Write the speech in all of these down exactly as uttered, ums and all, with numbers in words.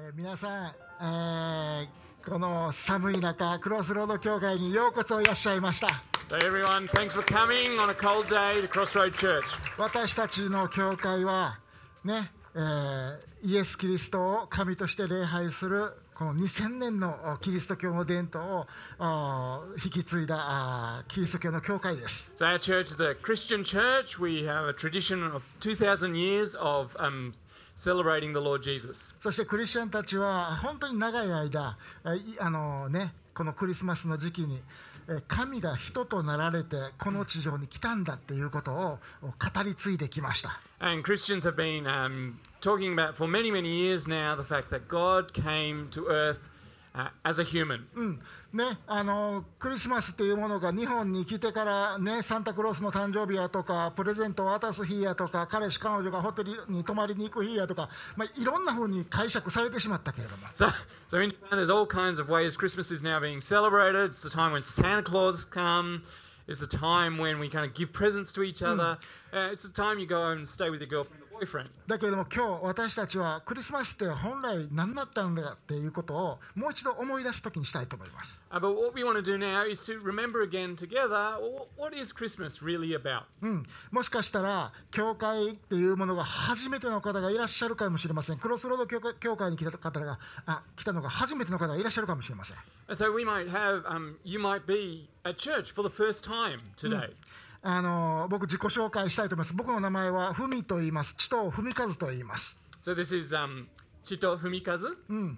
えー、皆さん、えー、この寒い中クロスロード教会にようこそいらっしゃいました。 So everyone, thanks for coming on a cold day to Crossroad Church. 私たちの教会はね、えー、イエス・キリストを神として礼拝するこのにせんねんのキリスト教の伝統を引き継いだキリスト教の教会です。 So our church is a Christian church. We have a tradition of two thousand years of um, celebrating the Lord Jesus. そしてクリスチャンたちは本当に長い間、あのね、このクリスマスの時期に神が人となられてこの地上に来たんだっていうことを語り継いできました。 And Christians have been um, talking about for many, many years now the fact that God came to earth uh, as a human. うんね、あのクリスマスっていうものが日本に来てから、ね、サンタクロースの誕生日やとかプレゼントを渡す日やとか彼氏彼女がホテルに泊まりに行く日やとか、まあ、いろんな風に解釈されてしまったけれども So, so in Japan there's all kinds of ways Christmas is now being celebrated. It's the time when Santa Claus come. It's the time when we kind of give presents to each other. Uh, it's the time you go and stay with your girlfriend or boyfriend. だけれども今日私たちはクリスマスって本来何だったんだっていうことをもう一度思い出す時にしたいと思います。 Uh, but what we want to do now is to remember again together, well, what is Christmas really about? うん、もしかしたら教会っていうものが初めての方がいらっしゃるかもしれません。クロスロード教会、教会に来た方があ来たのが初めての方がいらっしゃるかもしれません。 And so we might have, um, you might be at church for the first time today. あの僕自己紹介したいと思います。僕の名前はふみと言います。ちとふみかずと言います。 So this is um, Chito Fumikazu,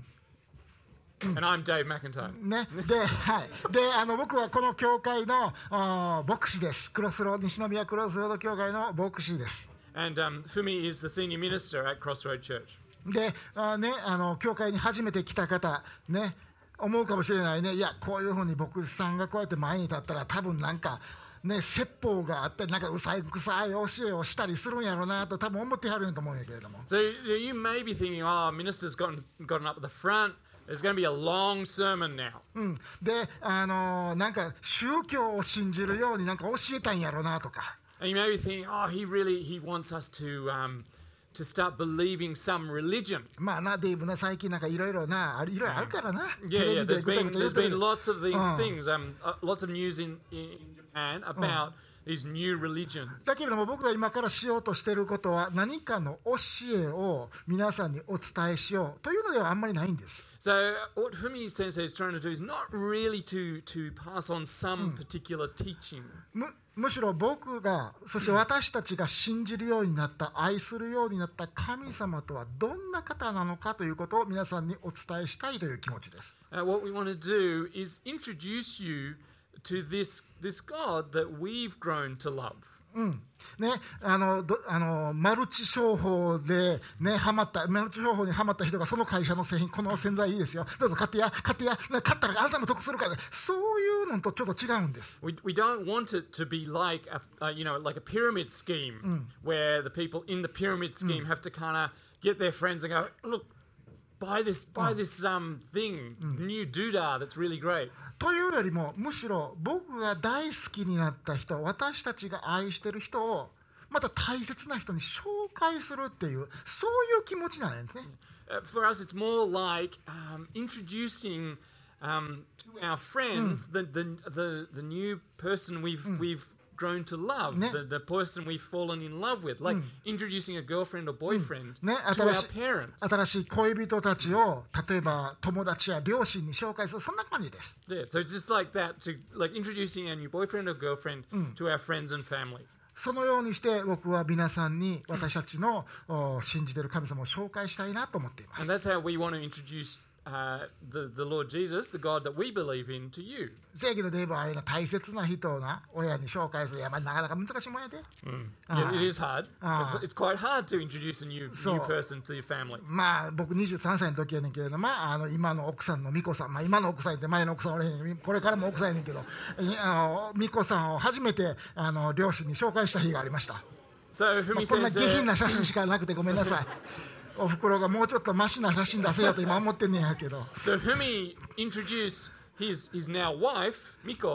and I'm Dave McIntyre. ね、で、はい、で、あの僕はこの教会のあ牧師です。クロスロー西宮クロスロード教会の牧師です。 And um, Fumi is the senior minister at Crossroad Church. で、あね、あの教会に初めて来た方ね、思うかもしれないね。いや、こういうふうに牧師さんがこうやって前に立ったら多分なんかね、説法があってなんかうさいくさい教えをしたりするんやろうなと多分思ってはるんやと思うんやけれども。 So you may be thinking, oh, minister's gotten, gotten up at the front. There's going to be a long sermon now. うん、で、あのー、なんか宗教を信じるようになんか教えたんやろうなとか。 And you may be thinking, oh, he really, he wants us to, um, to start believing some religion. まあな、デイブな、最近なんかいろいろな、いろいろあるからな。 Yeah, yeah, there's ぐちゃ been, ぐちゃ言 there's ってる been lots of these Uh. things, um, uh, lots of news in, in Japan about these new religions. だけれども僕が今からしようとしていることは何かの教えを皆さんにお伝えしようというのではあんまりないんです。 So what Fumi Sensei is trying to do is not really to, to pass on some particular teaching. む, むしろ僕がそして私たちが信じるようになった愛するようになった神様とはどんな方なのかということを皆さんにお伝えしたいという気持ちです。 Uh, what we want to do is introduce you to this, this God that we've grown to love. うんね、あのどあのマルチ商法で、ね、ハマったマルチ商法にハマった人がその会社の製品この洗剤いいですよどうぞ買ってや買ってや買ったらあなたも得するから、ね、そういうのとちょっと違うんです。 We, we don't want it to be like a, uh, you know, like a pyramid scheme where the people in the pyramid scheme have to kind of get their friends and go, look, buy this, buy this um, thing, new doodah that's really great. というよりもむしろ僕が大好きになった人、私たちが愛してる人をまた大切な人に紹介するっていうそういう気持ちなんですね。 Uh, for us, it's more like um, introducing um, to our friends the, the the the new person we've we've grown to love, ね、 the, the person we've fallen in love with, like introducing a girlfriend or boyfriend ね、 to our 新しい parents. 新しい恋人たちを例えば友達や両親に紹介するそんな感じです。 Yeah, so it's just like that, to like introducing a new boyfriend or girlfriend to our friends and family. そのようにして僕は皆さんに私たちの信じている神様を紹介したいなと思っています。 And that's how we want to introduce uh, the, the Lord Jesus, the God that we believe in, to you. 正義のデーブはあれが大切な人をな親に紹介する、いやまあなかなか難しいもんやで。 Yeah, it is hard. Ah. It's, it's quite hard to introduce a new, So- new person to your family. まあ僕にじゅうさんさいの時やねんけれども、まあ、あの今の奥さんの美子さん、まあ、今の奥さんって前の奥さんおれへん、これからも奥さんやねんけど、いあの美子さんを初めてあの両親に紹介した日がありました。 So まあ Fumi こんな says 下品 uh, な写真しかなくてごめんなさい。おふくろがもうちょっとマシな写真出せよと今思ってんねんやけど。 so Fumi introduced his his now wife Miko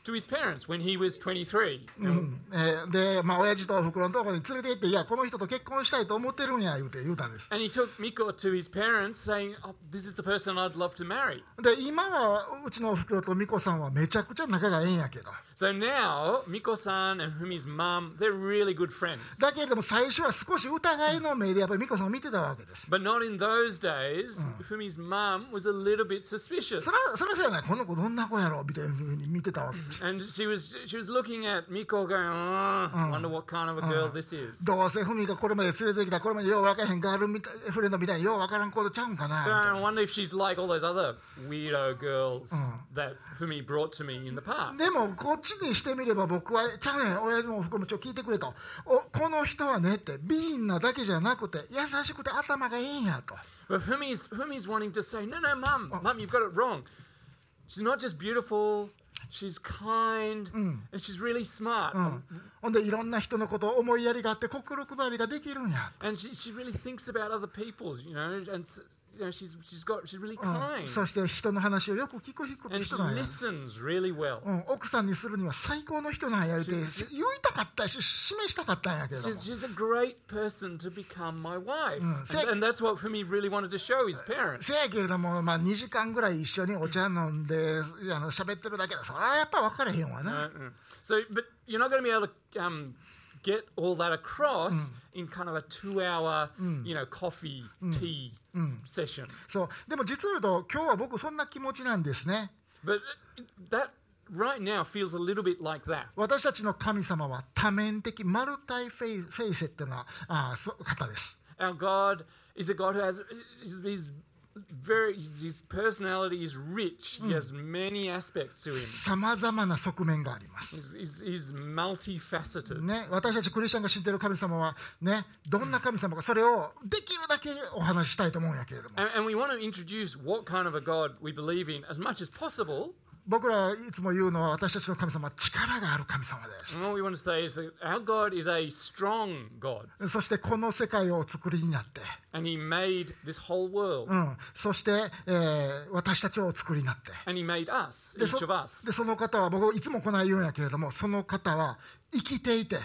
to his parents when he was twenty-three. うんえーで、まあ、親父とおふくろのところに連れて行って、いや、この人と結婚したいと思ってるんや、言うて言うたんです。 And he took Miko to his parents saying, oh, this is the person I'd love to marry. で、今はうちのおふくろと美子さんはめちゃくちゃ仲がええんやけど、 So now, Miko-san and Fumi's mum, they're really good friends. だけれども最初は少し疑いの目でやっぱり美子さんを見てたわけです。 But not in those days. Fumi's mum was a little bit suspicious. それはそれはそうやない、この子どんな子やろみたいなふうに見てたわけです。 And she was she was looking at Miko going, oh, I wonder what kind of a girl this is. どうせふみがこれまで連れてきたこれまでよう分からへんガールみたいフレンドみたいによう分からん子ちゃうんかなみたい I な。 wonder if she's like all those other weirdo girls that Fumi brought to me in the past. でもこっちにしてみれば僕はちゃうねん、親父もおふくろもちょっと聞いてくれと、おこの人はねって美人なだけじゃなくて優しくて頭がいいんやと。 But Fumi's Fumi's wanting to say, no, no, mum, mum, you've got it wrong. She's not just beautiful, she's kind, and she's really smart. ほんでいろんな人のことを思いやりがあって心配りができるんや。 And she she really thinks about other people, you know, and you know she's she's got she's really kind. そして人の話をよく聞く人 And she 人なんや。 listens really well. うん、奥さんにするには最高の人なんや言うて言いたかったし示したかったんやけれども、 She's, she's a great person to become my wife. Mm. And, and that's what Fumi really wanted to show his parents. せやけれども、まあ、にじかんぐらい一緒にお茶飲んであの喋ってるだけだ、それはやっぱ分かれへんわな。 Uh-uh. So, but you're not going to be able to um, get all that across in kind of a two-hour, you know, coffee, tea session. そうでも実を言うと今日は僕そんな気持ちなんですね。 But that right now feels a little bit like that. 私たちの神様は多面的マルタイフェイフェイセっていうのはあそ方です。 Our God is a God who has is these very his personality is rich. He has many aspects to him. さまざまな側面があります。 He's, he's, he's multifaceted. ね、私たちクリスチャンが知っている神様は、ね、どんな神様かそれをできるだけお話ししたいと思うんやけれども、 And, and we want to introduce what kind of a God we believe in as much as possible. 僕らいつも言うのは私たちの神様は力がある神様です。 And all we want to say is that our God is a strong God. そしてこの世界をお作りになって、 And he made this whole world. うん、そして、えー私たちをお作りになって、 And he made us, で each そ of us. でその方は僕いつもこない言うんやけれども、その方は生きていて、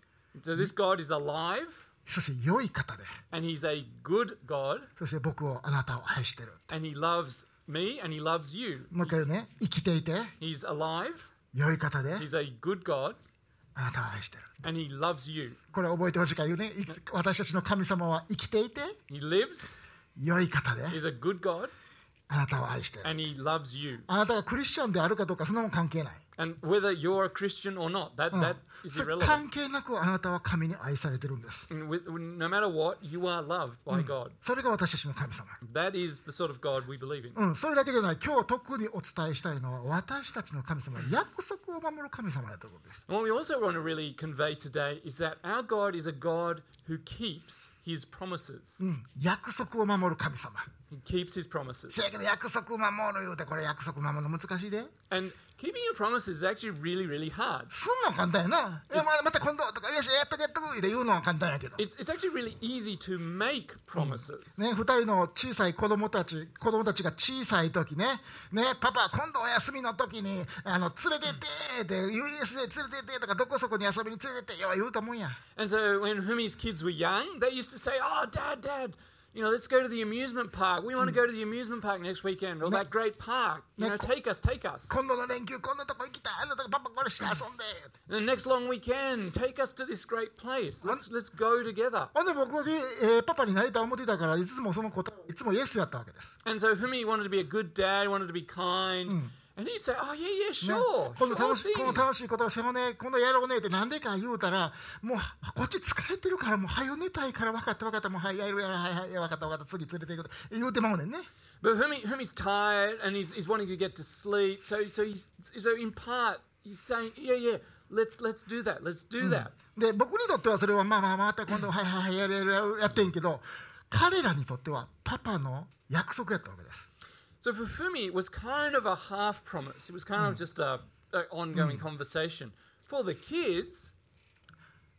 So this God is alive, そして良い方で、 and he's a good God, そして僕をあなたを愛してる。 and he loves me, and he loves you. もう一回言うね、生きていて He's alive, 良い方で he's a good God, あなたを愛してる。 and he loves you. これ覚えてほしいから言うね、い私たちの神様は生きていて He lives, 良い方で he's a good God, あなたを愛してる。 and he loves you. あなたがクリスチャンであるかどうかそんなもん関係ない。 And whether you're a Christian or not, that, うん that is それ irrelevant. 関係なくあなたは神に愛されてるんです。 And with, no matter what, you are loved by God. それが私たちの神様。 That is the sort of God we believe in. うん、それだけじゃない。今日特にお伝えしたいのは私たちの神様は約束を守る神様だということです。 And what we also want to really convey today is that our God is a God who keeps his promises. うん、約束を守る神様。 He keeps his promises. せやけど約束守る言うてこれ約束守るの難しいで。 And keeping your promises is actually really, really hard. すんの簡単やな。いやままた今度とかよしやっとけやっとくって言うのは簡単やけど。 It's, it's actually really easy to make promises. ね、二人の小さい子供たち、子供たちが小さい時ね、ね、パパ今度お休みの時にあの連れてってって ユーエスエー 連れてってとかどこそこに遊びに連れてってよ言うと思うんや。 And so when Fumi's kids were young, they used to say, oh, Dad, Dad, you know, let's go to the amusement park. We want to go to the amusement park next weekend, or that great park. You know, take us, take us. 今度の連休こんなとこ行きたい、あんなとこパパこれして遊んで。 And the next long weekend, take us to this great place. Let's let's go together. ほんで僕は、えーパパになりたい思ってたからいつもその答えいつもイエスやったわけです。 And so Fumi wanted to be a good dad, wanted to be kind. And he'd say, oh, yeah, yeah, ね sure. この sure 楽しこ thing. の楽しいことをしようね、今度やろうねってなんでか言うたら、もうこっち疲れてるからもう早寝たいから分かった分かったもうはいやるやるはいはい分かった分かった次連れて行く言うてまうねんね。 But Fumi, Fumi's tired and he's, he's wanting to get to sleep. So so he's so in part he's saying, yeah, yeah, let's let's do that. Let's do that. で僕にとってはそれはまあまあまた今度はいはいはいやるやるやるやってんけど、彼らにとってはパパの約束やったわけです。 So for Fumi, it was kind of a half promise. It was kind of just a, a ongoing conversation. For the kids,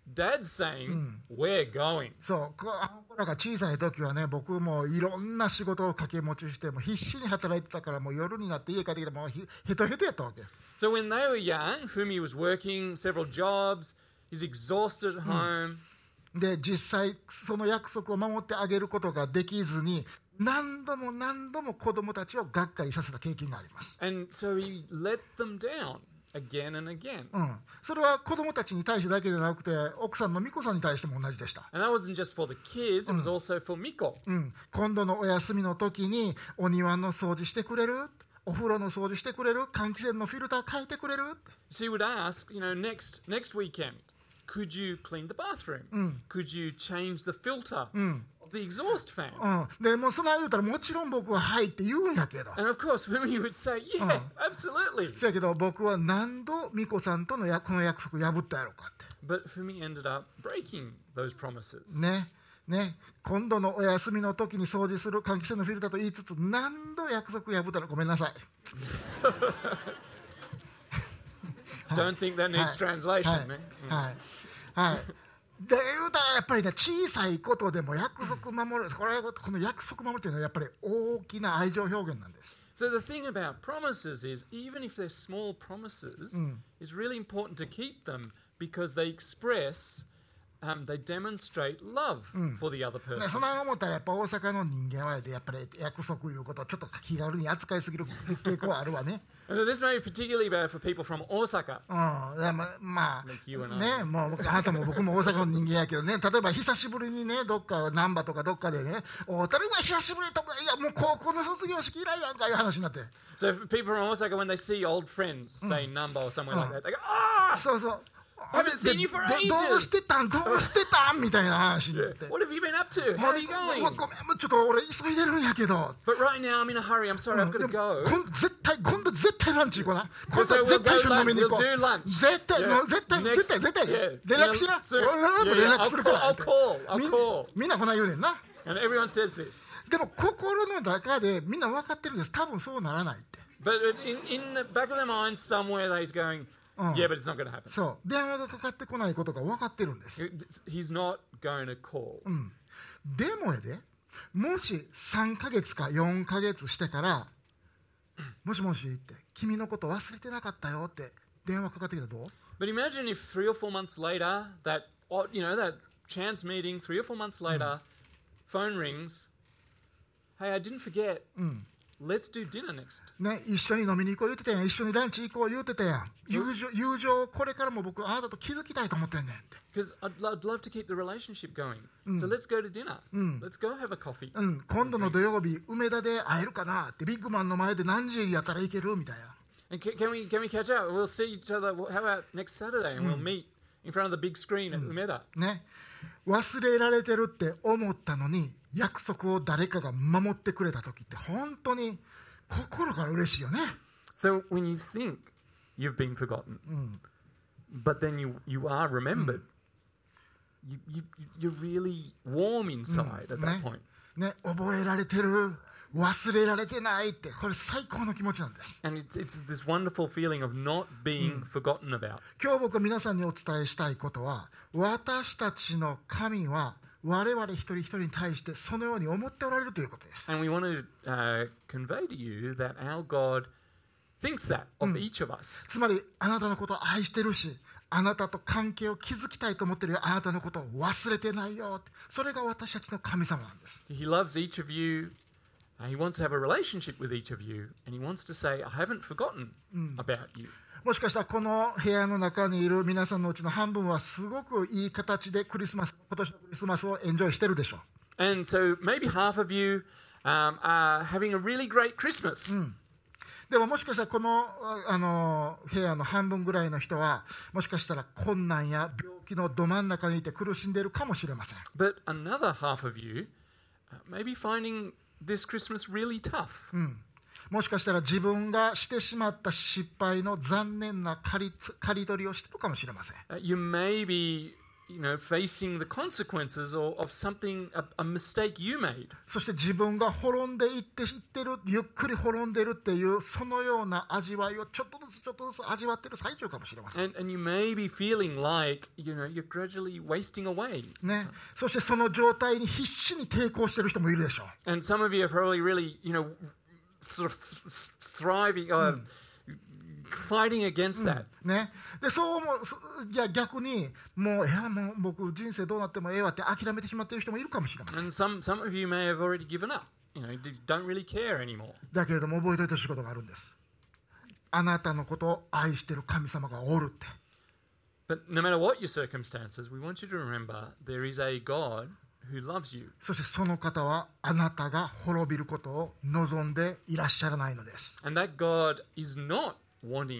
Dad's saying, we're going. そう、あの子らが小さい時はね、僕もいろんな仕事を掛け持ちして、もう必死に働いてたから、もう夜になって家帰ってきて、もうヘトヘトやったわけ。 So when they were young, Fumi was working several jobs, he's exhausted at home. で、実際その約束を守ってあげることができずに、何度も何度も子供たちをがっかりさせた経験があります。 And so he let them down again and again. うん、それは子供たちに対してだけじゃなくて、奥さんのミコさんに対しても同じでした。 And that wasn't just for the kids, it was also for Miko. うん、今度のお休みの時にお庭の掃除してくれる、お風呂の掃除してくれる、換気扇のフィルター変えてくれる。 She would ask, you know, next next weekend, could you clean the bathroom? Could you change the filter of the exhaust fan? うん、でもうそんな言うたらもちろん僕ははいって言うんやけど。 And of course, Fumi would say, yeah, absolutely. そやけど僕は何度ミコさんとのやこの約束破ったやろうかって。 But Fumi ended up breaking those promises. ね。ね、今度のお休みの時に掃除する換気扇のフィルターと言いつつ何度約束破ったらごめんなさい。 Don't think that needs translation, man. はいはい。で言うたらやっぱりね、小さいことでも約束守る、これこの約束守るというのはやっぱり大きな愛情表現なんです。 So the thing about promises is, even if they're small promises, it's really important to keep them because they express.Um, they demonstrate love for the other person. そんな思ったらやっぱ大阪の人間はやっぱり約束いうことをちょっと気軽に扱いすぎる傾向はあるわね。 So this may be particularly bad for people from Osaka. うん、いやままあね、もうあなたも僕も大阪の人間やけどね、例えば久しぶりにね、どっか難波とかどっかでね、おたるが久しぶりとか、いやもう高校の卒業式以来やんかいう話になって。 So people from Osaka, when they see old friends, say Namba or somewhere like that, they go, ah! そうそう。 あれでどうしてたんどうしてたんみたいな話になって。 What have you been up to? How are you going? ごめん、ちょっと俺急いでるんやけど。 But right now I'm in a hurry. I'm sorry, I've got to go. 絶対今度絶対ランチ行こうな。今度絶対一緒に飲みに行こう。絶対絶対絶対絶対連絡しな。俺連絡するから。みんなこんな言うねんな。 And everyone says this. でも心の中でみんな分かってるんです。多分そうならないって。 But in in the back of their minds somewhere they're going.Yeah, but it's not going to happen. そう、電話がかかってこないことが分かってるんです。 He's not going to call. うん、でもやで、もしさんかげつかよんかげつしてからもしもしって君のこと忘れてなかったよって電話かかってきたらどう？ But imagine if three or four months later, that you know that chance meeting, three or four months later, phone rings. Hey, I didn't forget. うん。Let's do dinner next. ね、一緒に飲みに行こう言うてたやん。一緒にランチ行こう言うてたやん。友情、友情これからも僕あなたと築きたいと思ってんねんって。 Because I'd, I'd love to keep the relationship going. So let's go to dinner. Let's go have a coffee. うん、今度の土曜日梅田で会えるかなってビッグマンの前で何時やったら行けるみたいな。 And can, can we can we catch up? We'll see each other. How about next Saturday and we'll meet in front of the big screen at Umeda. ね、忘れられてるって思ったのに約束を誰かが守ってくれた時って本当に心から嬉しいよね。 So when you think you've been forgotten, but then you you are remembered, you you you're really warm inside at that point. ね、覚えられてる、忘れられてないってこれ最高の気持ちなんです。 And it's it's this wonderful feeling of not being forgotten about. 今日僕は皆さんにお伝えしたいことは、私たちの神は我々一人一人に対してそのように思っておられるということです。 And we want to、uh, convey to you that our God thinks that of each of us. つまりあなたのことを愛してるし、あなたと関係を築きたいと思っているあなたのことを忘れてないよ。それが私たちの神様なんです。 He loves each of you. Uh, he wants to have a relationship with each of you, and he wants to say, I haven't forgotten about you. もしかしたらこの部屋の中にいる皆さんのうちの半分はすごくいい形でクリスマス、今年のクリスマスをエンジョイしてるでしょう。 And so maybe half of you um, are having a really great Christmas. うん、でももしかしたらこの、あの部屋の半分ぐらいの人はもしかしたら困難や病気のど真ん中にいて苦しんでいるかもしれません。 But another half of you uh, may be finding this Christmas really tough. うん、もしかしたら自分がしてしまった失敗の残念な刈り、刈り取りをしているかもしれません。 Uh, you may be you know, facing the consequences of, of something, a, a mistake you made. そして自分が滅んでいっていってる、ゆっくり滅んでるっていうそのような味わいをちょっとずつちょっとずつ味わってる最中かもしれません。 And, and you may be feeling like, you know, you're gradually wasting away. ね、そしてその状態に必死に抵抗してる人もいるでしょう。 And some of you are probably really, you know, sort of thriving, uh, fighting against that. ね、でそう思う、いや逆にもう、いやもう僕人生どうなってもええわって諦めてしまっている人もいるかもしれません。 And some, some of you may have already given up. You know, you don't really care anymore. だけれども覚えておいてほしいことがあるんです。あなたのことを愛している神様がおるって。 But no matter what your circumstances, we want you to remember there is a God who loves you. そしてその方はあなたが滅びることを望んでいらっしゃらないのです。 And that God is not wanting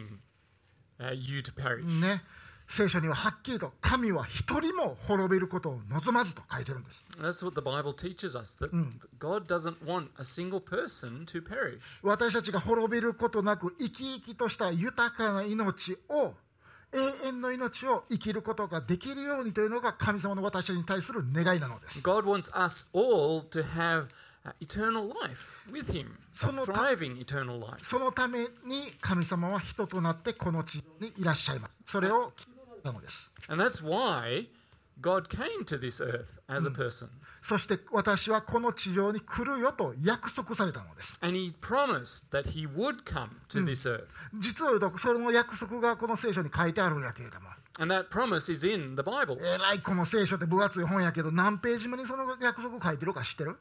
uh, you to perish. ね、聖書にははっきりと神は一人も滅びることを望まずと書いてるんです。 That's what the Bible teaches us, that God doesn't want a single person to perish. 私たちが滅びることなく生き生きとした豊かな命を、永遠の命を生きることができるようにというのが神様の私たちに対する願いなのです。 God wants us all to have uh, eternal life with Him, a thriving eternal life. そのために神様は人となってこの地にいらっしゃいます。それを聞いたのです。 And that's why God came to this earth as a person. そして私はこの地上に来るよと約束されたのです。 And He promised that He would come to this earth. 実を言うとその約束がこの聖書に書いてあるんやけれども、 And that promise is in the Bible. えらいこの聖書って分厚い本やけど何ページ目にその約束書いてるか知ってる？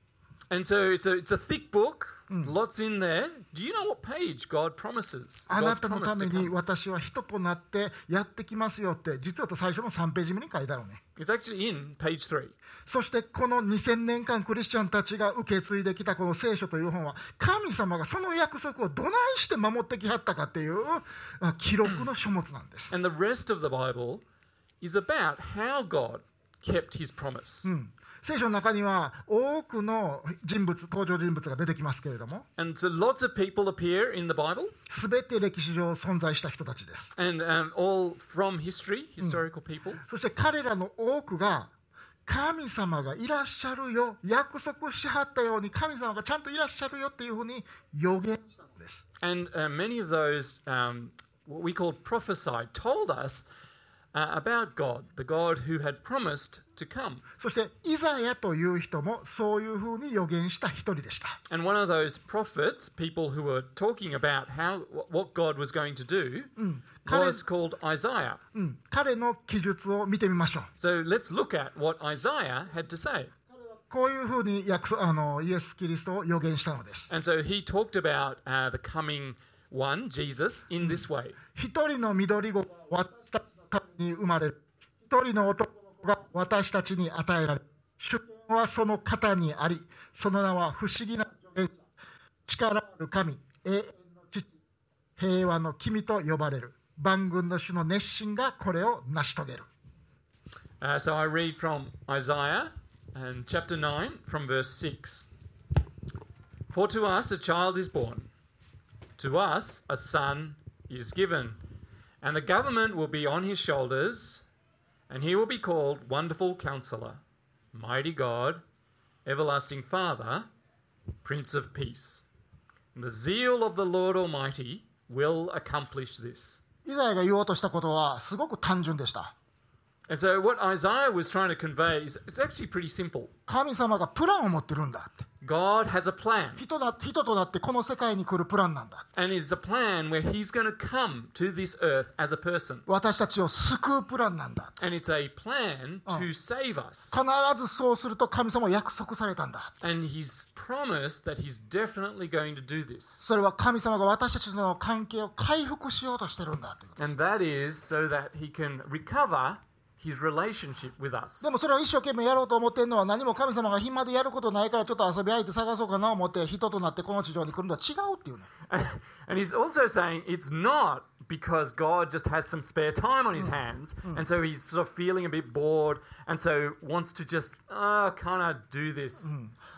And so it's a, it's a thick book, lots in there. Do you know what page God promises? あな God's たの promise ため to に come. 私は人となってやってきますよって実はと最初のさんページ目に書いてあるね。 It's actually in page three. そしてこのにせんねんかんクリスチャンたちが受け継いできたこの聖書という本は神様がその約束をどないして守ってきはったかっていうあ記録の書物なんです。 And the rest of the Bible is about how God kept His promise. 聖書の中には多くの人物、登場人物が出てきますけれども、 And so lots of people appear in the Bible, すべて歴史上存在した人たちです。 and um, all from history, historical people. そして彼らの多くが神様がいらっしゃるよ、約束しはったように神様がちゃんといらっしゃるよっていうふうに予言したのです。 And uh, many of those, um, what we call prophesied, told us uh, about God, the God who had promised to come. そしてイザヤという人もそういうふうに予言した一人でした。 And one of those prophets, people who were talking about how what God was going to do, was called Isaiah. うん、彼の記述を見てみましょう。 So let's look at what Isaiah had to say. こういうふうに約束あのイエス・キリストを予言したのです。 And so he talked about uh, the coming one, Jesus, in this way. 一人の緑子が私たちのために生まれる。一人の男の子が私たちに与えられる。主権はその方にあり、その名は不思議な助言者、力ある神、永遠の父、平和の君と呼ばれる。万軍の主の熱心がこれを成し遂げる。 Uh, so I read from Isaiah and chapter nine from verse six. For to us a child is born, to us a son is given, and the government will be on his shoulders, and he will be called Wonderful Counselor, Mighty God, Everlasting Father, Prince of Peace. And the zeal of the Lord Almighty will accomplish this. イザヤが言おうとしたことはすごく単純でした。 And so what Isaiah was trying to convey is it's actually pretty simple. 神様がプランを持ってるんだって。 God has a plan. 人だ、人となってこの世界に来るプランなんだ。 And it's a plan where he's going to come to this earth as a person. 私たちを救うプランなんだ。 And it's a plan to save us. 必ずそうすると神様は約束されたんだ。 And he's promised that he's definitely going to do this. それは神様が私たちとの関係を回復しようとしてるんだということ。 And that is so that he can recover his relationship with us. でもそれを一生懸命やろうと思ってるのは何も神様が暇でやることないからちょっと遊び相手探そうかなと思って人となってこの地上に来るのは違うっていうね。 And he's also saying it's not because God just has some spare time on his hands, and so he's sort of feeling a bit bored, and so wants to just uh, kind of do this.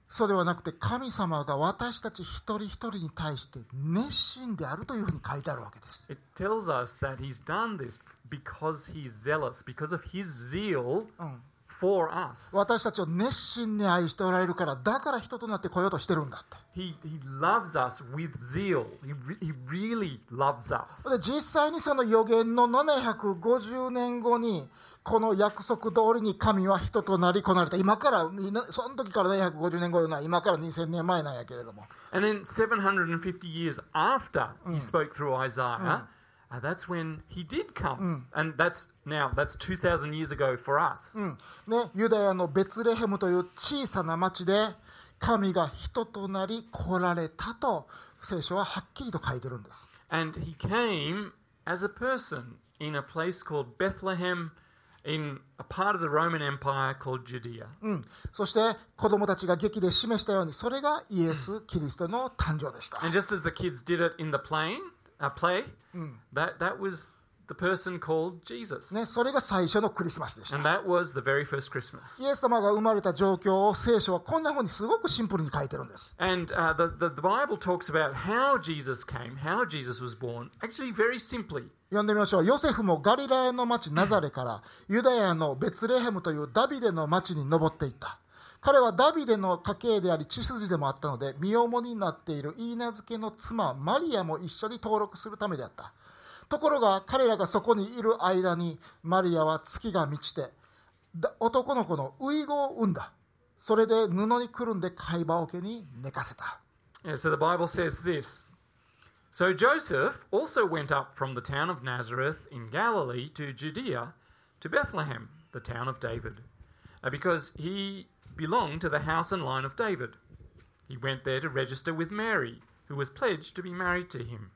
そうではなくて、神様が私たち一人一人に対して熱心であるというふうに書いてあるわけです。 It tells us that he's done this because he's zealous, because of his zeal うん、 for us. 私たちを熱心に愛しておられるから、だから人となって来ようとしてるんだって。 He, he loves us with zeal. He, re, he really loves us. で、実際にその予言のななひゃくごじゅうねんごに、この約束通りに神は人となりこなれた。今から、その時からななひゃくごじゅうねんごというのは今からにせんねんまえなんやけれども。 And then seven hundred fifty years after he spoke through Isaiah, uh, that's when he did come. And that's now, that's two thousand years ago for us. うんね、ユダヤのベツレヘムという小さな町で神が人となり来られたと聖書ははっきりと書いてるんです。 And he came as a person in a place called Bethlehem, in a part of the Roman Empire called Judea. うん、そして子供たちが劇で示したように、それがイエス・キリストの誕生でした。 And just as the kids did it in the plane, uh, play, that, that was the person called Jesus. ね、それが最初のクリスマスでした。 And that was the very first Christmas. イエス様が生まれた状況を聖書はこんなふうにすごくシンプルに書いてるんです。 And uh, the, the, the Bible talks about how Jesus came, how Jesus was born, actually very simply. 読んでみましょう。ヨセフもガリラヤの町ナザレからユダヤのベツレヘムというダビデの町に登っていった。彼はダビデの家系であり血筋でもあったので、身重になっているイーナ付けの妻マリアも一緒に登録するためであった。ところが彼らがそこにいる間にマリアは月が満ちて男の子のウイゴを産んだ。それで布にくるんで貝羽桶に寝かせた。 Yeah, so the Bible says this. So Joseph also went up from the town of Nazareth in Galilee to Judea, to Bethlehem, the town of David, uh, because he belonged to the house and line of David. He went there to register with Mary, who was pledged to be married to him,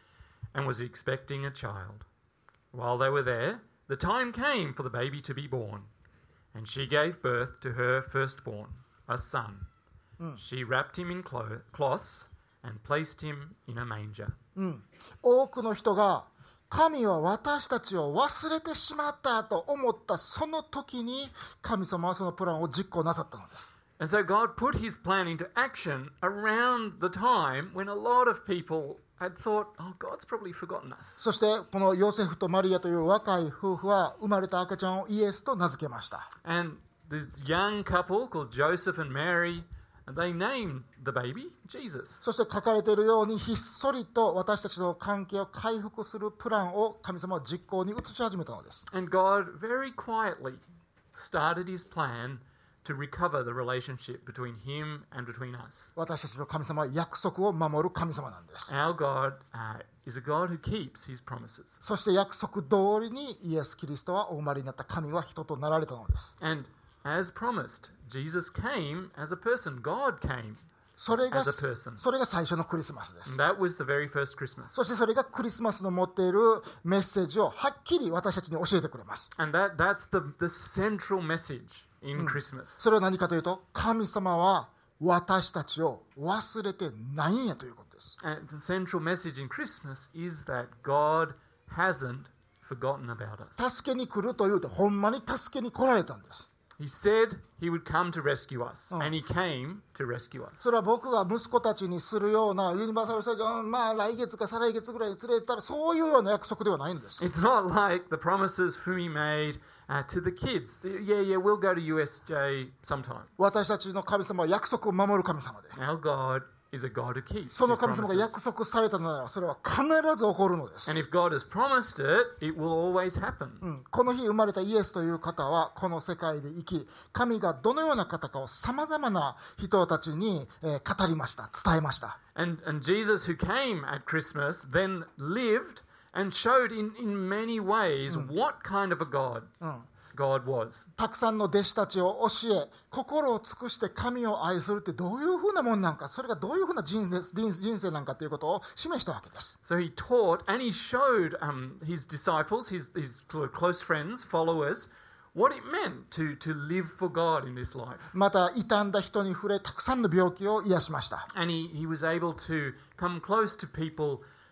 and was expecting a child. While they were there, the time came for the baby to be born, and she gave birth to her firstborn, a son. She wrapped him in clo- cloths and placed him in a manger. うん、多くの人が神は私たちを忘れてしまったと思ったその時に神様はそのプランを実行なさったのです。 And so God put his plan into action around the time when a lot of people had thought, oh, God's probably forgotten us. そしてこのヨセフとマリアという若い夫婦は生まれた赤ちゃんをイエスと名付けました。 And this young couple called Joseph and Mary, and they named the baby Jesus. そして書かれているようにひっそりと私たちの関係を回復するプランを神様は実行に移し始めたのです。 And God very quietly started his plan to recover the relationship between him and between us. 私たちの神様は約束を守る神様なんです。 Our God uh, is a God who keeps his promises. そして約束通りにイエス・キリストはお生まれになった神は人となられたのです。 And as promised, Jesus came as a person. God came それが as a person. それが最初のクリスマスです。 And that was the very first Christmas. そしてそれがクリスマスの持っているメッセージをはっきり私たちに教えてくれます。 And that, that's the, the central message in Christmas. それは何かというと、神様は私たちを忘れてないんやということです。 And the central message in Christmas is that God hasn't forgotten about us. 助けに来るというと、ほんまに助けに来られたんです。 He said he would come to rescue us, and he came to rescue us. それは僕が息子たちにするようなユニバーサル・スタジオ、まあ来月か再来月ぐらいに連れてったら、そういうような約束ではないんです。 It's not like the promises whom he made uh, to the kids. Yeah, yeah, we'll go to U S J sometime. 私たちの神様は約束を守る神様で、 Our God is a God who keeps そ his の神様が promises. 約束されたのなら、それは必ず起こるのです。 And if God has promised it, it will always happen. うん、この日生まれたイエスという方はこの世界で生き、神がどのような方かをさまざまな人たちに、えー、語りました、伝えました。 And, and Jesus, who came at Christmas, then lived and showed in, in many ways what kind of a God うん、 God was. たくさんの弟子たちを教え、心を尽くして神を愛するってどういうふうなもんなんか、それがどういうふうな人生、人生なんかということを示したわけです。 So he taught and he showed um, his disciples, his, his close friends, followers, what it meant to, to live for God in this life. また傷んだ人に触れ、たくさんの病気を癒しました。 And he, he was able to come close to people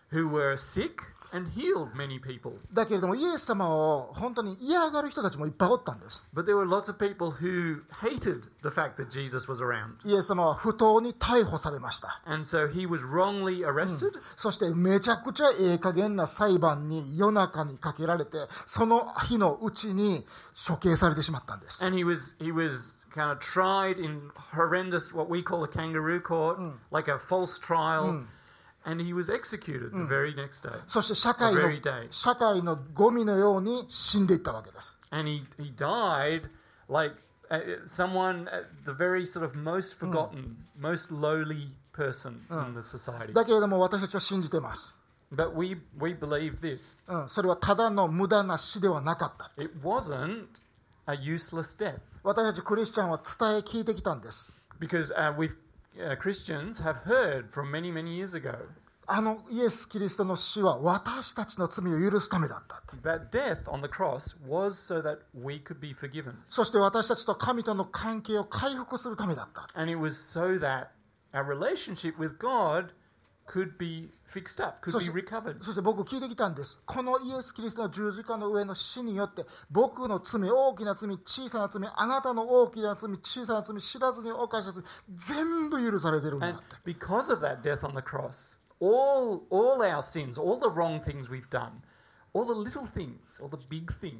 who were sick and healed many people. だけれどもイエス様を本当に嫌がる人たちもいっぱいおったんです。 But there were lots of people who hated the fact that Jesus was around. イエス様は不当に逮捕されました。 And so he was wrongly arrested. そしてめちゃくちゃええ加減な裁判に夜中にかけられて、その日のうちに処刑されてしまったんです。 And he was he was kind of tried in horrendous, what we call a kangaroo court, like a false trial. And he was executed the very next day. そして社会の The very day. 社会のゴミのように死んでいったわけです。 And he, he died like uh, someone at the very sort of most forgotten, most lowly person in the society. だけれども私たちは信じています。 But we, we believe this. うん、それはただの無駄な死ではなかった。 It wasn't a useless death. 私たちクリスチャンは伝え聞いてきたんです。 Because uh, we've, uh, Christians have heard from many, many years ago あのイエス・キリストの死は私たちの罪を許すためだった。 that death on the cross was so that we could be forgiven. そして私たちと神との関係を回復するためだった。 And it was so that our relationship with God could be fixed up, could そ be して recovered. そして僕聞いてきたんです。このイエス・キリストの十字架の上の死によって僕の罪、大きな罪、小さな罪、あなたの大きな罪、小さな罪、知らずに犯した罪、全部許されてるんだっ And て。 because of that death on the cross, all, all our sins, all the wrong things we've done, all the little things, all the big things,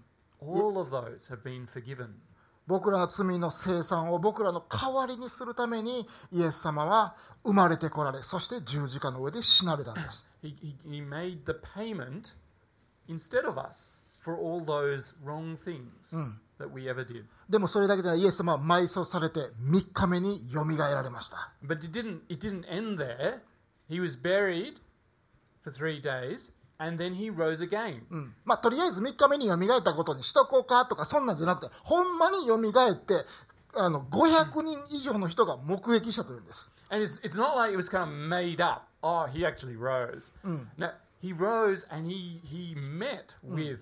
all of those have been forgiven. 僕らの罪の清算を僕らの代わりにするためにイエス様は生まれてこられ、そして十字架の上で死なれたんです。 He, he, he made the payment instead of us for all those wrong things that we ever did. でもそれだけではイエス様は埋葬されてみっかめによみがえられました。 But it didn't, it didn't end there. He was buried for three days and then he rose again. うんまあ、とりあえずみっかめによみがえったことにしとこうかとかそんなんじゃなくて、ほんまによみがえってあのごひゃくにん以上の人が目撃したというんです。 And it's, it's not like it was kind of made up. Oh, he actually rose. No, he rose and he, he met with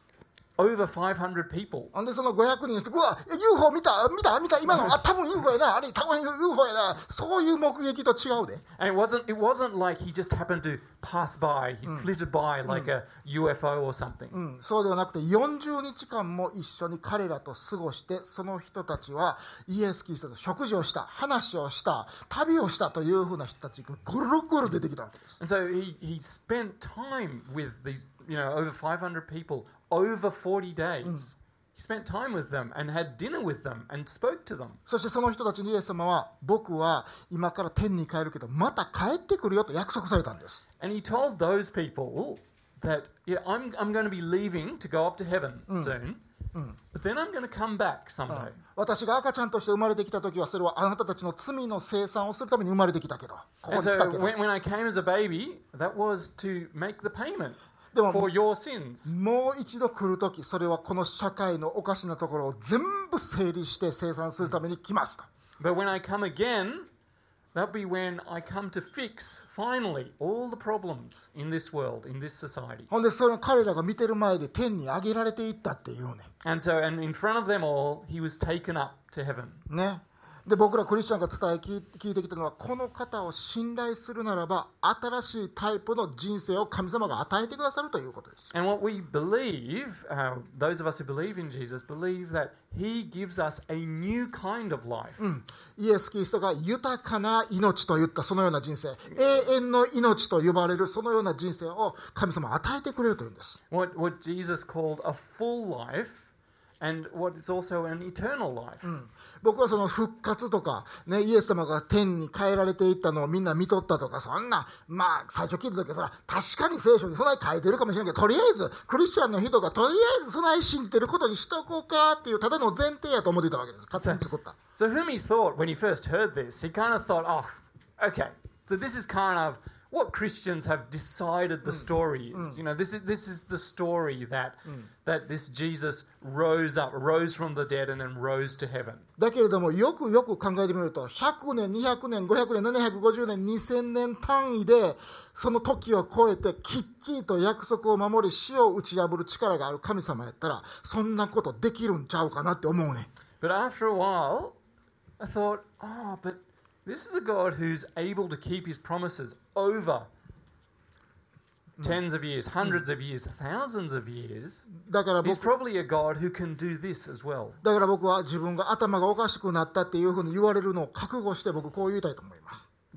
over five hundred people. ほんでそのごひゃくにんの人、うわ ユーフォー 見た見た見た今のあ多分 ユーフォー やなあれ多分 ユーフォー やな、そういう目撃と違うで。 And it wasn't, it wasn't like he just happened to pass by. He flitted by like a U F O or something. うん、そうではなくてよんじゅうにちかんも一緒に彼らと過ごして、その人たちはイエス・キリストと食事をした、話をした、旅をしたというふうな人たちがぐるぐる出てきたわけです。 And so he, he spent time with these, you know, over five hundred people over forty days. He spent time with them and had dinner with them and spoke to them. そしてその人たちにイエス様は、僕は今から天に帰るけどまた帰ってくるよと約束されたんです。 And he told those people that, yeah, I'm, I'm going to be leaving to go up to heaven soon, but then I'm going to come back someday. 私が赤ちゃんとして生まれてきた時はそれはあなたたちの罪の清算をするために生まれてきたけど、ここ And に来た so けど when, when I came as a baby, that was to make the payment でも for your sins. もう一度来る時、それはこの社会のおかしなところを全部整理して清算するために来ますと。 But when I come again, that'll be when I come to fix, finally, all the problems in this world, in this society. ほんでそれ彼らが見てる前で天に上げられていったっていうね。 And so, and in front of them all, he was taken up to heaven. ね。で僕らクリスチャンが伝え聞い聞いてきたのは、この方を信頼するならば新しいタイプの人生を神様が与えてくださるということです。 And what we believe, uh, those of us who believe in Jesus, believe that he gives us a new kind of life. イエス・キリストが豊かな命といったそのような人生、永遠の命と呼ばれるそのような人生を神様は与えてくれるというんです。 What, what Jesus called a full life, and what is also an eternal life. 僕はその復活とか、ね、イエス様が天に帰られていったのをみんな見とったとか、そんな、まあ、最初聞いた時はそら、確かに聖書にそない書いてるかもしれないけど、とりあえず、クリスチャンの人がとりあえずそない信じてることにしとこうかっていう、ただの前提やと思っていたわけです。勝手に作った。 So Humi thought, when he first heard this, he kind of thought, oh, okay, so this is kind of what Christians have decided the story is. You know, this is this is the story that that this Jesus rose up, rose from the dead and then rose to heaven. だけれどもよくよく考えてみると、ひゃくねん、にひゃくねん、ごひゃくねん、ななひゃくごじゅうねん、にせんねん単位でその時を超えてきっちりと約束を守り死を打ち破る力がある神様やったら、そんなことできるんちゃうかなって思うね。 But after a while, I thought, oh, but this is a God who's able to keep his promises over tens of years, hundreds of years, thousands of years, だから He's 僕 probably a God who can do this as well. だから僕は自分が頭がおかしくなったっていうふうに言われるのを覚悟して僕こう言いたいと思います。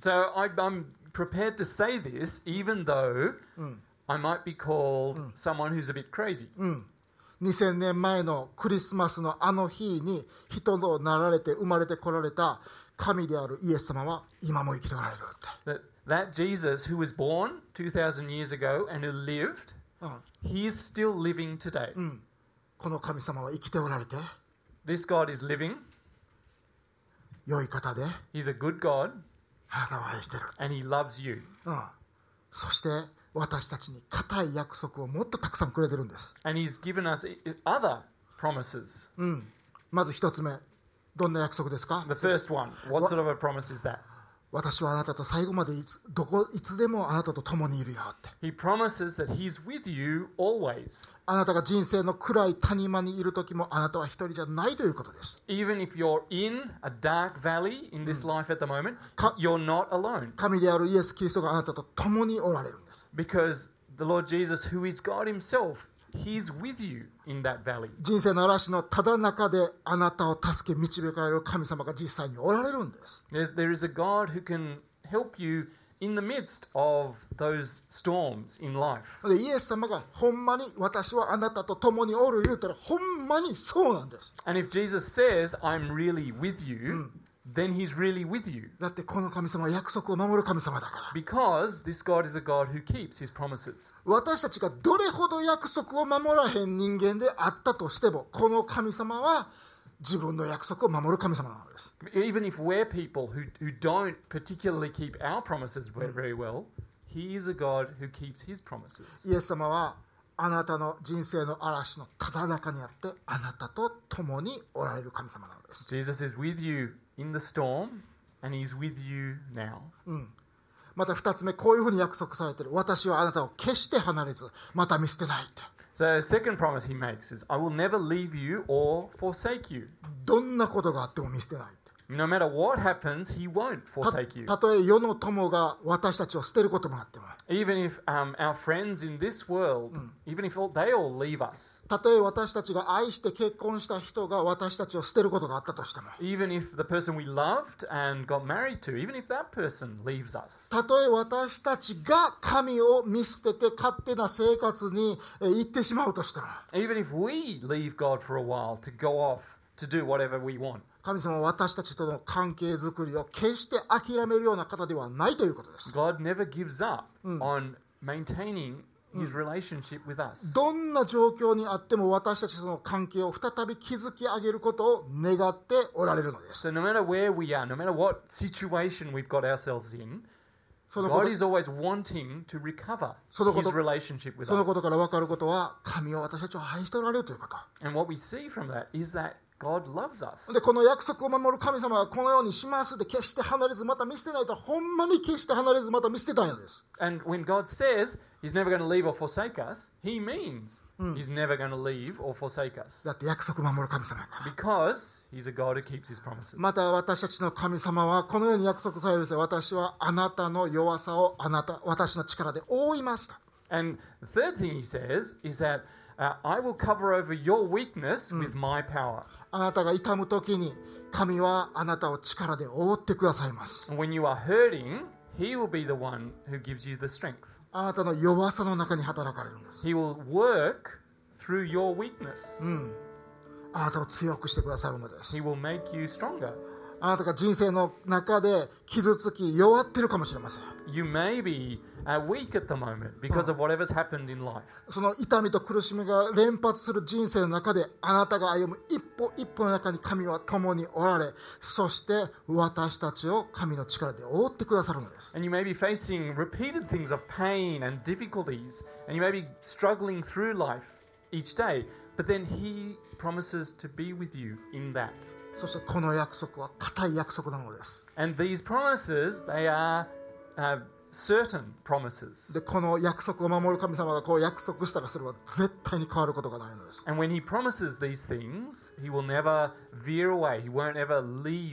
So I, I'm prepared to say this, even though I might be called someone who's a bit crazy. うんにせんねんまえのクリスマスのあの日に人となられて生まれてこられた神であるイエス様は今も生きておられるって。 That, that Jesus who was born two thousand years ago and who lived, うん he is still living today. うんこの神様は生きておられて This God is living. 良い方で He's a good God あなたを愛してる。 and he loves you. うんそして私たちに固い約束をもっとたくさんくれてるんです。 And he's given us i- other promises. うんまず一つ目どんな約束ですか？ The first one, what sort of a promise is that? 私はあなたと最後までいつどこいつでもあなたと共にいるよって。 He promises that he's with you always. あなたが人生の暗い谷間にいる時もあなたは一人じゃないということです。 Even if you're in a dark valley in this life at the moment, Ka- you're not alone. 神であるイエス・キリストがあなたと共におられるんです。 Because the Lord Jesus, who is God himself, he's with you in that valley. 人生の嵐のただ中であなたを助け導かれる神様が実際におられるんです。 There's, there is a God who can help you in the midst of those storms in life. でイエス様がほんまに私はあなたと共におる言うたらほんまにそうなんです。 And if Jesus says, I'm really with you, then he's really with you. だってこの神様は約束を守る神様だから。 Because this God is a God who keeps his promises. 私たちがどれほど約束を守らへん人間であったとしてもこの神様は自分の約束を守る神様なのです。 Even if we're people who, who don't particularly keep our promises ve- very well, he is a God who keeps his promises. イエス様はあなたの人生の嵐のただ中にあってあなたと共におられる神様なのです。 Jesus is with you in the storm, and he's with you now. また二つ目こういうふうに約束されている。私はあなたを決して離れずまた見捨てないって。 So, second promise he makes is, I will never leave you or forsake you. どんなことがあっても見捨てないって。 No matter what happens, he won't た forsake you. たとえ世の友が私たちを捨てることもあっても Even if um, our friends in this world, even if all, they all leave us, たとえ私たちが愛して結婚した人が私たちを捨てることがあったとしても even if the person we loved and got married to, even if that person leaves us, たとえ私たちが神を見捨てて勝手な生活にえー行ってしまうとしても even if we leave God for a while to go off to do whatever we want, 神様は私たちとの関係づくりを決して諦めるような方ではないということです。 God never gives up on maintaining his relationship with us. どんな状況にあっても私たちとの関係を再び築き上げることを願っておられるのです。 So no matter where we are, no matter what situation we've got ourselves in, そのこ God と is always wanting to recover そのこと his relationship with そのこと us. から分かることは神は私たちを愛しておられるということ。 And what we see from that is that God loves us. でこの約束を守る神様はこのようにしますで決して離れずまた見捨てないとほんまに決して離れずまた見捨てたいのです。 And when God says he's never going to leave or forsake us, he means he's never going to leave or forsake us. だって約束を守る神様やから。 Because he's a God who keeps his promises. また私たちの神様はこのように約束されるんですよ。私はあなたの弱さをあなた私の力で覆いますと。 And the third thing he says is that uh, I will cover over your weakness with my power. あなたが痛む時に神はあなたを力で覆ってくださいます。 And when you are hurting, he will be the one who gives you the strength. あなたの弱さの中に働かれるんです。 He will work through your weakness. あなたを強くしてくださるのです。 He will make you stronger. あなたが人生の中で傷つき弱ってるかもしれません。 You may be uh, weak at the moment because of whatever's happened in life. その痛みと苦しみが連発する人生の中であなたが歩む一歩一歩の中に神は共におられ、そして私たちを神の力で覆ってくださるのです。 And you may be facing repeated things of pain and difficulties, and you may be struggling through life each day, but then he promises to be with you in that. そしてこの約束は固い約束なのです。 And these promises, they are uh, certain promises. で、この約束を守る神様がこう約束したらそれは絶対に変わることがないのです。 And when he promises these things, he will never veer away. He won't ever leave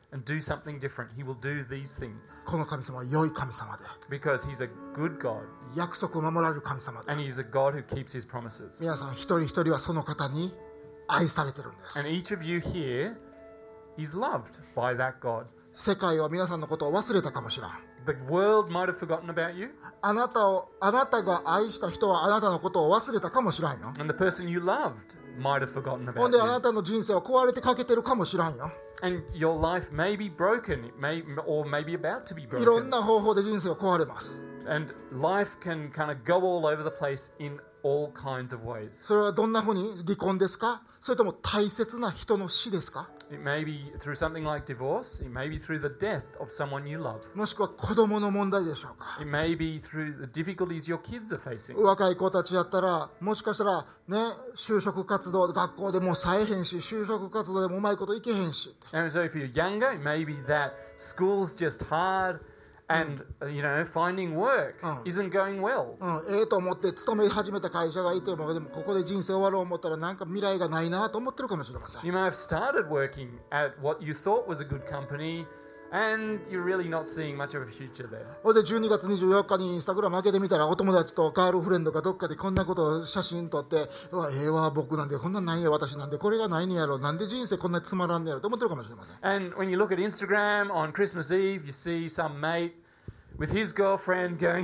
and do something different. He will do these things この神様は良い神様で、 because He's a good God 約束を守られる神様で、 and He's a God who keeps His promises. 皆さん一人一人はその方に愛されてるんです。 And each of you here is loved by that God. 世界は皆さんのことを忘れたかもしれん。 The world might have forgotten about you, あなたを、あなたが愛した人はあなたのことを忘れたかもしれんよ。 and the person you loved might have forgotten ほん about であな you. たの人生は壊れてかけてるかもしれんよ。 And your life may be broken, it may, or maybe about to be いろん broken. な方法で人生は壊れます。 And life can kind of go all over the place in all kinds of ways. それはどんなふうに？離婚ですか？それとも大切な人の死ですか？ It may be through something like divorce, it may be through the death of someone you love. もしくは子供の問題でしょうか？ It may be through the difficulties your kids are facing. 若い子たちやったらもしかしたらね、就職活動学校でもさえへんし、就職活動でもうまいこといけへんし、 And so if you're younger, it may be that school's just hard and, uh, you know, finding work Mm. isn't going well. うん、ええと思って勤め始めた会社がいてもでもここで人生終わろう思ったらなんか未来がないなと思ってるかもしれません。 You may have started working at what you thought was a good company and you're really not seeing much of a future there. ほんでじゅうにがつにじゅうよっかにインスタグラム開けてみたらお友達とガールフレンドがどっかでこんなことを写真撮ってうわええわ僕なんでこんなんないよ私なんでこれがないねやろなんで人生こんなにつまらんねやろと思ってるかもしれません。 And when you look at Instagram on Christmas Eve, you see some mate with his girlfriend going,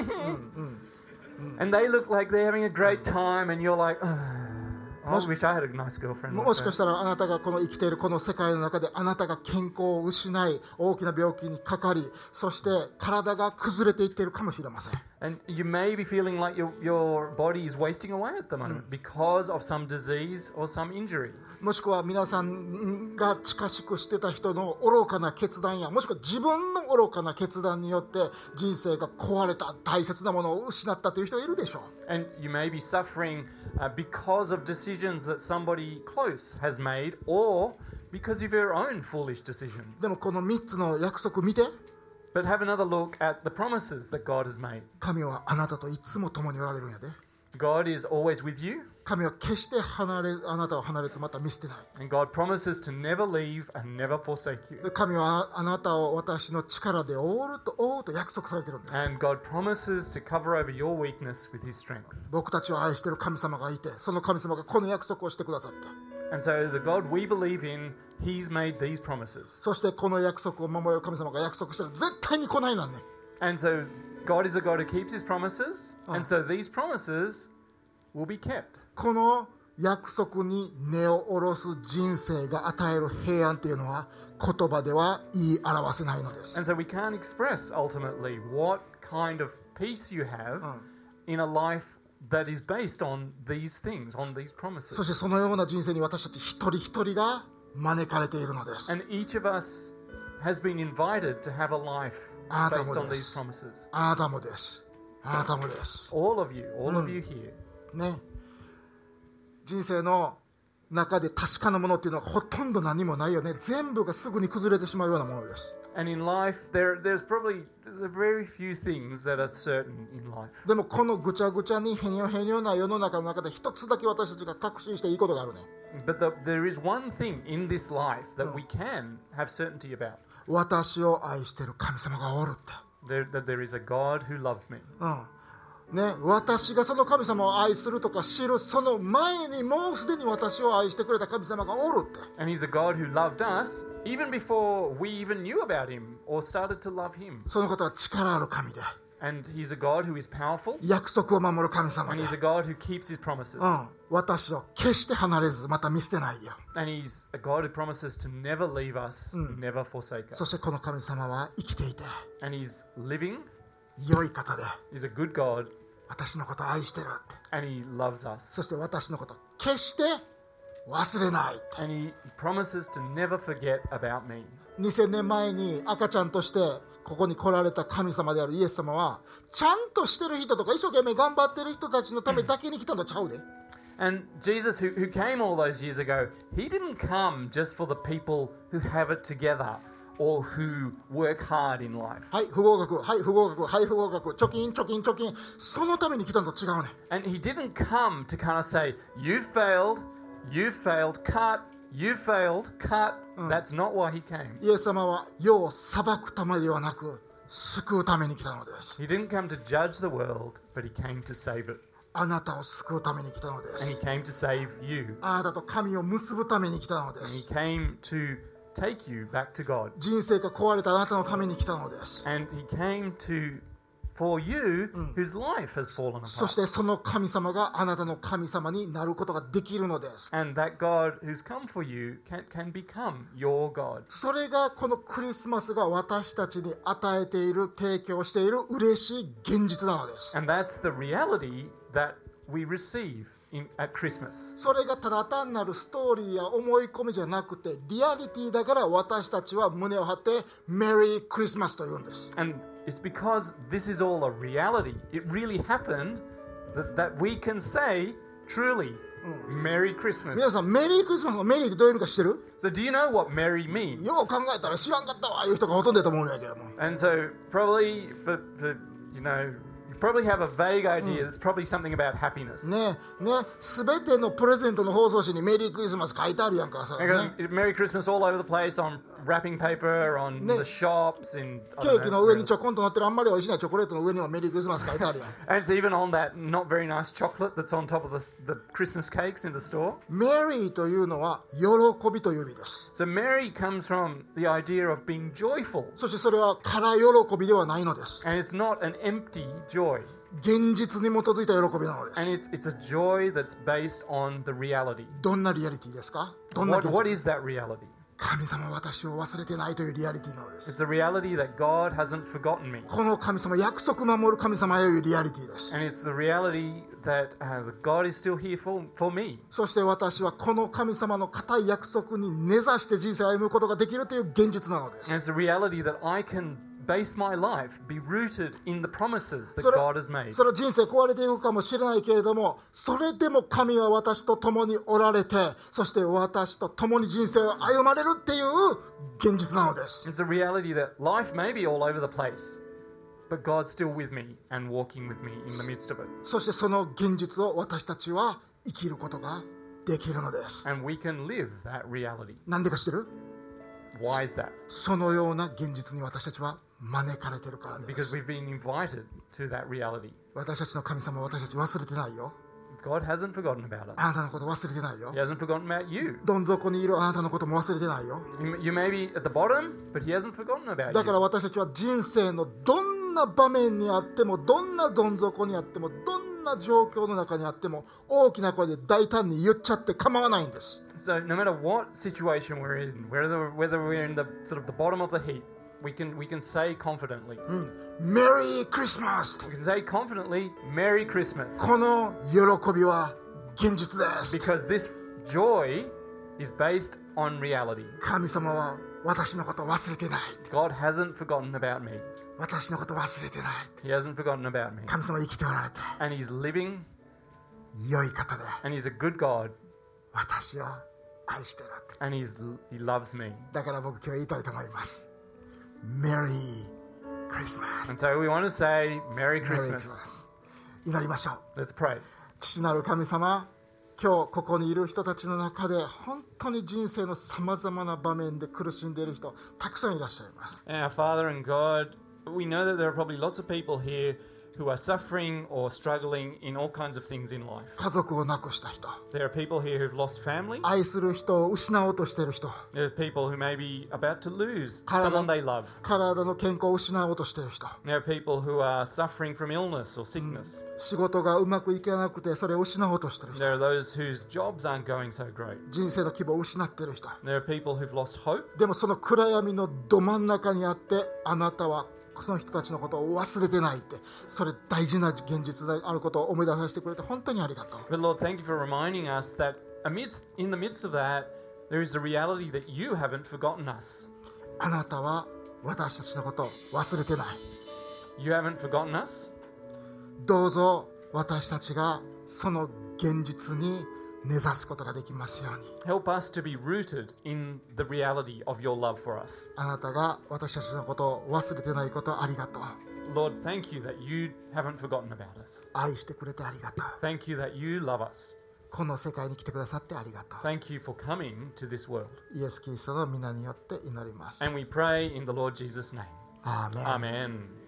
and they look like they're having a great time, and you're like, oh, I wish I had a nice girlfriend. も Like しかしたらあなたがこの生きているこの世界の中であなたが健康を失い大きな病気にかかりそして体が崩れていっているかもしれません。 And you may be feeling like your, your body is wasting away at the moment because of some disease or some injury. もしくは皆さんが近しくしてた人の愚かな決断やもしくは自分の愚かな決断によって人生が壊れた大切なものを失ったという人がいるでしょう。 And you may be suffering uh, because of decisions that somebody close has made or because of your own foolish decisions. でもこのみっつの約束見て But have another look at the promises that God has made. 神はあなたといつも共におられるんやで。 God is always with you, 神は決して離れあなたを離れずまた見捨てない。 and God promises to never leave and never forsake you. で神はあなたを私の力で覆うと覆うと約束されてるんです。 And God promises to cover over your weakness with His strength. 僕たちを愛している神様がいてその神様がこの約束をしてくださった。 And so the God we believe in, He's made these promises. そしてこの約束を守れる神様が約束したら絶対に来ないなんね。 And so God is a God who keeps His promises, Oh. and so these promises will be kept. この約束に根を下ろす人生が与える平安というのは言葉では言い表せないのです。 And so we can't express ultimately what kind of peace you have Oh. in a life that is based on these things, on these そ promises. してそのような人生に私たち一人一人が招かれているのです。 And each of us has been invited to have a life あなた based も on で these す。 promises. あなたもです。あなたもです。 All of you, all of you here. ね。人生の中で確かなものっていうのはほとんど何もないよね。全部がすぐに崩れてしまうようなものです。 And in life, there, there's probably there's a very few things that are certain in life. でもこのぐちゃぐちゃにへにょへにょな世の中の中で一つだけ私たちが確信していいことがあるね。 But the, there is one thing in this life that we can have certainty about. 私を愛している神様がおるって。 There, that there is a God who loves me. うんね、私がその神様を愛するとか知るその前にもうすでに私を愛してくれた神様がおるって。 And He's a God who loved us even before we even knew about Him or started to love Him. その方は力ある神で And He's a God who is powerful. 約束を守る神様 And で、 He's a God who keeps His promises. うん、私を決して離れずまた見捨てないよ。 And He's a God who promises to never leave us, never forsake そ us. してこの神様は生きていて And He's living. 良い方で He's a good God. 私のことを愛してるって。 And He loves us. そして私のこと決して忘れないって。 And He promises to never forget about me. にせんねんまえに赤ちゃんとしてここに来られた神様であるイエス様はちゃんとしてる人とか一生懸命頑張ってる人たちのためだけに来たのちゃうで。 And Jesus, who, who came all those years ago, He didn't come just for the people who have it together or who work hard in life. はい不合格はい不合格はい不合格貯金貯金貯金そのために来たのと違うね。 And He didn't come to kind of say, you failed, you failed, cut, You failed, cut. That's not why he came. イエス様は世を裁くためではなく救うために来たのです。 He didn't come to judge the world, but he came to save it. あなたを救うために来たので And he す。 came to save you. あなたと神を結ぶために来たので And he す。 came to take you back to God. 人生が壊れたあなたのために来たのです。 And he came to for you whose life has fallen そし apart. てその神様があなたの神様になることができるのです。 And that God who's come for you can, can become your God. それがこのクリスマスが私たちに与えている、提供している嬉しい現実なのです。 And that's the reality that we receive in, at Christmas. それがただ単なるストーリーや思い込みじゃなくてリアリティだから私たちは胸を張ってメリークリスマスと言うんです。 And it's because this is all a reality. It really happened that, that we can say truly, Merry Christmas. 皆さんメリークリスマスのメリーってどういう意味か知ってる？ So do you know what merry means? よう考えたら知らんかったわいう人がほとんどだと思うんやけども。 And so probably for, for you know, you probably have a vague idea. It's probably something about happiness. ねえねすべてのプレゼントの包装紙にメリークリスマス書いてあるやんかさ、 Because ね、 Merry Christmas all over the place on wrapping paper, on Ne- the shops, in ケ I ー don't キ know, の上にちょこんと乗ってるあんまり美味しないチョコレートの上にはメリークリスマス書いてあるやん。 and it's even on that not very nice chocolate that's on top of the, the Christmas cakes in the store. メリーというのは喜びという意味です。 So Merry comes from the idea of being joyful. そしてそれは空喜びではないのです。 And it's not an empty joy. 現実に基づいた喜びなので And す。 it's it's a joy that's based on the reality. どんなリアリティですか？どんな What, 現 what 実？ is that reality? 神様は私を忘れてないというリアリティなのです。 It's the reality that God hasn't forgotten me. この神様、約束守る神様というリアリティです。 And it's the reality that uh, that God is still here for, for me. そして私はこの神様の固い約束に根ざして人生を歩むことができるという現実なのです。 And it's the reality that I can base my life, be rooted in the promises that それ God has made. その人生壊れていくかもしれないけれども、それでも神は私と共におられて、そして私と共に人生を歩まれるっていう現実なのです。 It's the reality that life may be all over the place, but God's still with me and walking with me in the midst of it. そしてその現実を私たちは生きることができるのです。 And we can live that reality. なんでか知ってる？ Why is that? そのような現実に私たちは招かれているからで Because す。 we've been invited to that reality. 私たちの神様は私たち忘れてないよ。 God hasn't forgotten about us. あなたのこと忘れてないよ He。hasn't forgotten about you. どん底にいるあなたのことも忘れてないよ。 You, you may be at the bottom, but He hasn't forgotten about だから you. 私たちは人生のどんな場面にあっても、どんなどん底にあっても、どんな状況の中にあっても、大きな声で大胆に言っちゃって構わないんです。 So no matter what situation we're in, whether whether we're in the sort of the bottom of the heap, we can we can say confidently. メリークリスマス We can say confidently, Merry Christmas, この喜びは現実です。 because this joy is based on reality. 神様は私のことを忘れてない。 God hasn't forgotten about me. 私のことを忘れてない。 He hasn't forgotten about me. 神様は生きておられて、 And He's living, 良い方で and He's a good God, 私を愛している。 and He's He loves me. だから僕今日言いたいと思います。メリークリスマス。 And so we want to say Merry メリークリスマ Christmas. ス。祈りましょう。 Let's pray. 父なる神様、今日ここにいる人たちの中で本当に人生のさまざまな場面で苦しんでいる人たくさんいらっしゃいます。 Our Father and God, we know that there are probably lots of people here who are suffering or struggling in all kinds of things in life. 家族を亡くした人、 There are people here who've lost family. 愛する人を失おうとしている人、 There are people who may be about to lose Karada. someone they love. 体の健康を失おうとしている人、 There are people who are suffering from illness or sickness. 仕事がうまくいかなくてそれを失おうとしている人、 There are those whose jobs aren't going so great. 人生の希望を失っている人、 There are people who've lost hope. でもその暗闇のど真ん中にあってあなたはその人たちのことを忘れてないって、それ大事な現実であることを思い出させてくれて本当にありがとう。 But Lord, thank you for reminding us that amidst, in the midst of that, there is a reality that you haven't forgotten us. あなたは私たちのことを忘れてない。 You haven't forgotten us. どうぞ私たちがその現実に根ざすことができますように。 Help us to be rooted in the reality of your love for us. あなたが私たちのことを忘れてないことありがとう。 Lord, thank you that you haven't forgotten about us. 愛してくれてありがとう。 Thank you that you love us. この世界に来てくださってありがと Thank you for coming to this world. う。イエス・キリストの皆によって祈ります。 And we pray in the Lord Jesus' name. アーメン。 Amen.